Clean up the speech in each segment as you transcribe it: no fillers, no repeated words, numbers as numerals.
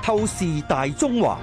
透視大中華。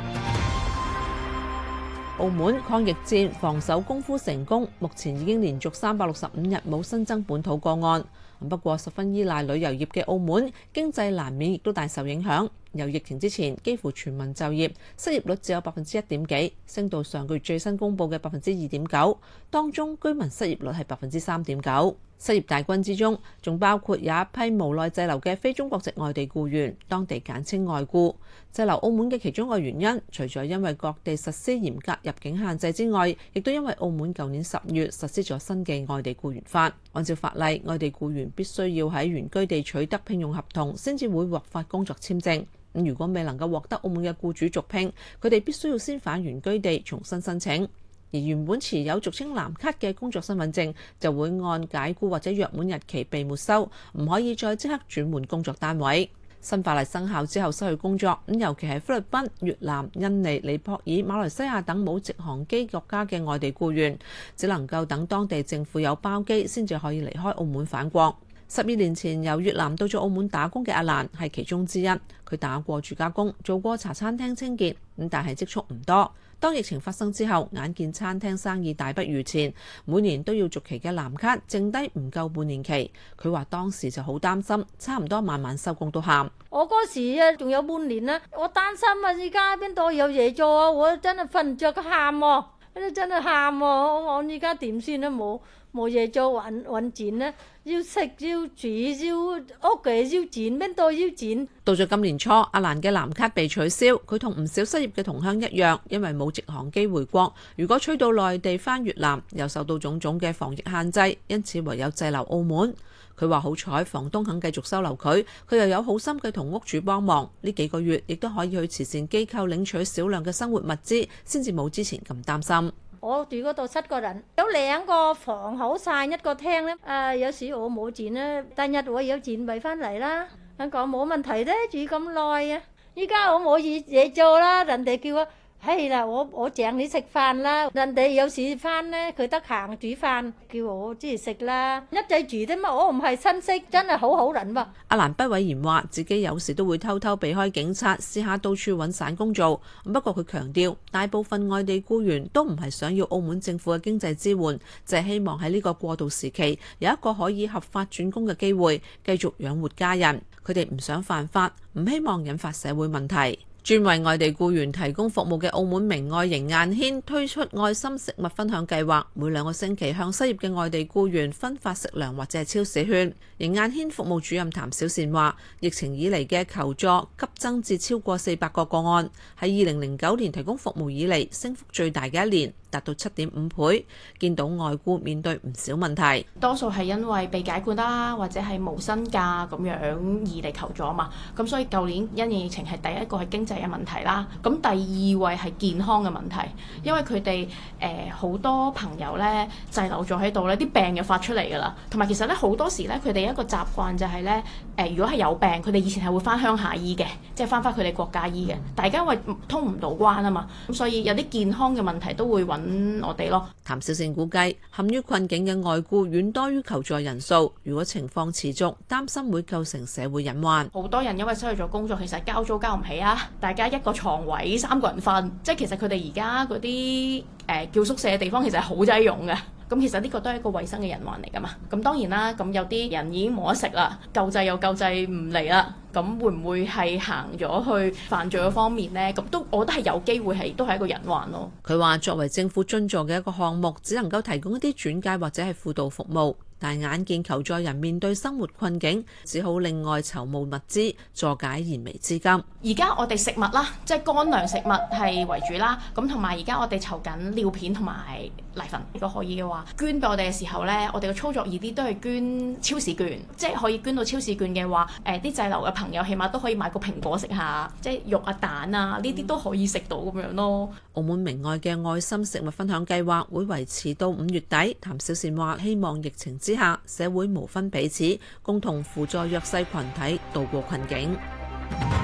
澳門抗疫戰防守功夫成功，目前已經連續365日冇新增本土個案。不過十分依賴旅遊業嘅澳門，經濟難免亦都大受影響。由疫情之前幾乎全民就業，失業率只有1.1幾，升到上個月最新公佈嘅2.9%。當中居民失業率係3.9%。失業大軍之中，仲包括有一批無奈滯留嘅非中國籍外地僱員，當地簡稱外僱。滯留澳門嘅其中一個原因，除咗因為各地實施嚴格入境限制之外，亦都因為澳門舊年10月實施咗新嘅外地僱員法。按照法例，外地僱員必須要喺原居地取得聘用合同，先至會獲發工作簽證。如果未能夠獲得澳門嘅僱主續聘，佢哋必須要先返原居地重新申請。而原本持有俗稱藍卡嘅工作身份證就會按解僱或者約滿日期被沒收，唔可以再即刻轉換工作單位。新法例生效之後失去工作，尤其係菲律賓、越南、印尼、尼泊爾、馬來西亞等冇直航機國家嘅外地僱員，只能夠等當地政府有包機先至可以離開澳門返國。12年前由越南到咗澳門打工嘅阿蘭係其中之一，佢打過住家工，做過茶餐廳清潔，但係積蓄唔多。當疫情發生之後，眼見餐廳生意大不如前，每年都要續期嘅藍卡剩低唔夠半年期。佢話當時就好擔心，差唔多晚晚收工都喊。 我嗰時啊，仲有半年啦，我擔心啊，而家邊度有嘢做啊？我真係瞓唔着個喊喎，真係喊喎！我而家點算啊？冇嘢做，揾錢咧，要食要住要屋企要錢，邊度要錢？ 到咗今年初，阿蘭嘅藍卡被取消，佢同唔少失業嘅同鄉一樣，因為冇直航機回國，如果取到內地返越南，又受到種種嘅防疫限制，因此唯有滯留澳門。佢話好彩房東肯繼續收留佢，佢又有好心嘅同屋主幫忙，呢幾個月亦都可以去慈善機構領取少量嘅生活物資，先至冇之前咁擔心。 我住嗰度7個人，有2個房好晒，1個廳咧。有時我冇錢咧，第日我有錢咪翻嚟啦。我講冇問題咧，住咁耐啊！依家我冇嘢做啦，人哋叫我係啦，我請你食飯啦。人哋有時翻咧，佢得閒煮飯，叫我即係食啦。一齊住啫嘛，我唔係親戚，真係好人喎。 阿蘭不諱言話，自己有時都會偷偷避開警察，試下到處揾散工做。不過佢強調，大部分外地僱員都唔係想要澳門政府嘅經濟支援，就係希望喺呢個過渡時期有一個可以合法轉工嘅機會，繼續養活家人。佢哋唔想犯法，唔希望引發社會問題。專為外地僱員提供服務嘅澳門明愛營雁軒推出愛心食物分享計劃，每2個星期向失業嘅外地僱員分發食糧或者係超市券。營雁軒服務主任譚小善話，疫情以嚟嘅求助急增至超過400個個案，係2009年提供服務以嚟升幅最大嘅一年，達到7.5倍。見到外僱面對唔少問題， 多數係因為被解僱啦，或者係無薪假咁樣而嚟求助啊嘛。咁所以舊年因應疫情係第一個係經濟嘅問題啦。咁第2位係健康嘅問題，因為佢哋好多朋友咧滯留咗喺度咧，啲病又發出嚟㗎啦。同埋其實咧好多時咧，佢哋一個習慣就係咧如果係有病，佢哋以前係會翻鄉下醫嘅，即係翻佢哋國家醫嘅。大家因為通唔到關啊嘛，咁所以有啲健康嘅問題都會揾我哋咯。 譚小善估計，陷於困境嘅外僱遠多於求助人數，如果情況持續，擔心會構成社會隱患。 好多人因為失去咗工作，其實交租交唔起啊！大家一個床位3個人瞓，即係其實佢哋而家嗰啲叫宿舍嘅地方其實係好擠擁嘅。咁其實呢個都係一個衞生嘅隱患嚟㗎嘛。咁當然啦，咁有啲人已經冇得食啦，救濟又救濟唔嚟啦。咁會唔會係行咗去犯罪嘅方面呢？咁都我覺得係有機會都係一個隱患咯。 佢話作為政府津助嘅一個項目，只能夠提供一啲轉介或者係輔導服務。但眼見求助人面對生活困境，只好另外籌募物資助解燃眉之急。 而家我哋食物啦，即係乾糧食物係為主啦。咁同埋而家我哋籌緊尿片同埋奶粉。如果可以嘅話，捐俾我哋嘅時候呢，我哋嘅操作易啲都係捐超市券，即係可以捐到超市券嘅話，啲滯留嘅朋友起碼都可以買個蘋果食下，即係肉啊蛋啊呢啲都可以食到咁樣咯。 澳門明愛嘅愛心食物分享計劃會維持到5月底。譚小善話：希望疫情之下，社會無分彼此，共同輔助弱勢群體渡過困境。